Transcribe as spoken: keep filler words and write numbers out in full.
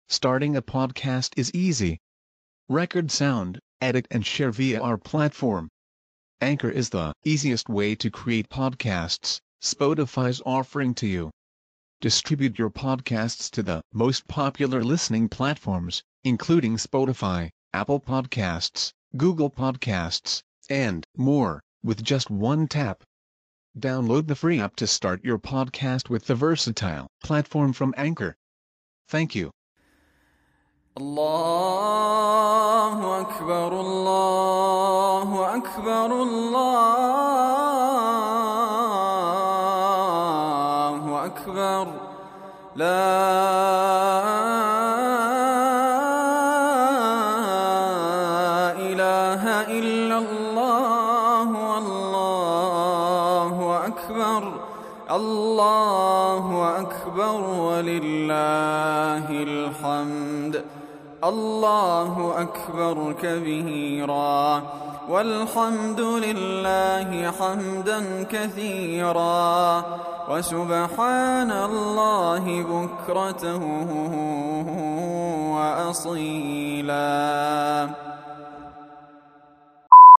Starting a podcast is easy. Record sound, edit and share via our platform. Anchor is the easiest way to create podcasts Spotify's offering to you. Distribute your podcasts to the most popular listening platforms, including Spotify, Apple Podcasts, Google Podcasts, and more, with just one tap. Download the free app to start your podcast with the versatile platform from Anchor. Thank you. الله أكبر الله أكبر الله أكبر لا إله إلا الله والله أكبر الله أكبر ولله الحمد الله أكبر كبيرا والحمد لله حمدا كثيرا وسبحان الله بكرة وأصيلا.